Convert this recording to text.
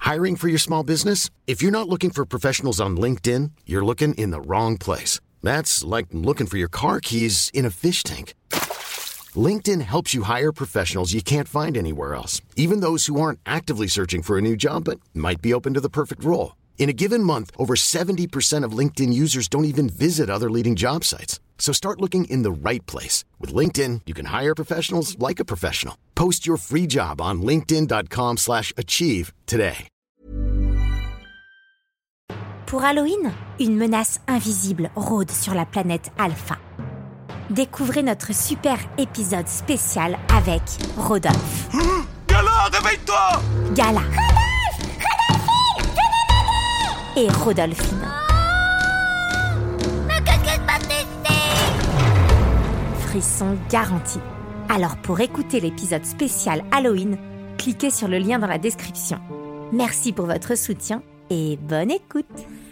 Hiring for your small business? If you're not looking for professionals on LinkedIn, you're looking in the wrong place. That's like looking for your car keys in a fish tank. LinkedIn helps you hire professionals you can't find anywhere else, even those who aren't actively searching for a new job but might be open to the perfect role. In a given month, over 70% of LinkedIn users don't even visit other leading job sites. So start looking in the right place. With LinkedIn, you can hire professionals like a professional. Post your free job on linkedin.com/achieve today. Pour Halloween, une menace invisible rôde sur la planète Alpha. Découvrez notre super épisode spécial avec Rodolphe. Gala, réveille-toi! Gala. Et Rodolphine. Mais qu'est-ce qui se passe ici? Frisson garanti. Alors pour écouter l'épisode spécial Halloween, cliquez sur le lien dans la description. Merci pour votre soutien et bonne écoute.